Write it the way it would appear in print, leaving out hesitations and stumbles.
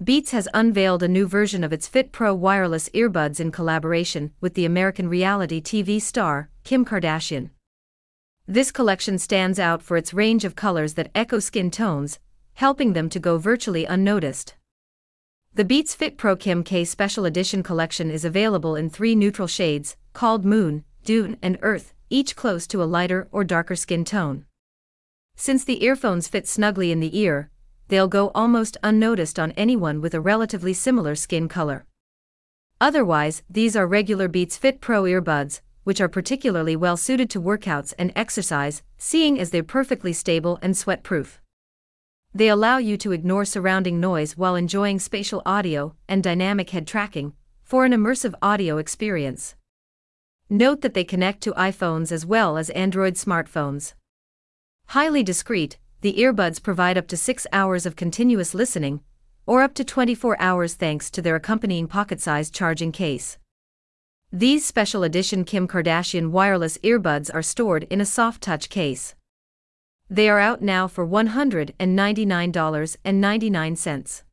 Beats has unveiled a new version of its Fit Pro wireless earbuds in collaboration with the American reality TV star, Kim Kardashian. This collection stands out for its range of colors that echo skin tones, helping them to go virtually unnoticed. The Beats Fit Pro Kim K Special Edition collection is available in 3 neutral shades, called Moon, Dune, and Earth, each close to a lighter or darker skin tone. Since the earphones fit snugly in the ear, they'll go almost unnoticed on anyone with a relatively similar skin color. Otherwise, these are regular Beats Fit Pro earbuds, which are particularly well suited to workouts and exercise, seeing as they're perfectly stable and sweat-proof. They allow you to ignore surrounding noise while enjoying spatial audio and dynamic head tracking for an immersive audio experience. Note that they connect to iPhones as well as Android smartphones. Highly discreet, the earbuds provide up to 6 hours of continuous listening, or up to 24 hours thanks to their accompanying pocket-sized charging case. These special edition Kim Kardashian wireless earbuds are stored in a soft touch case. They are out now for $199.99.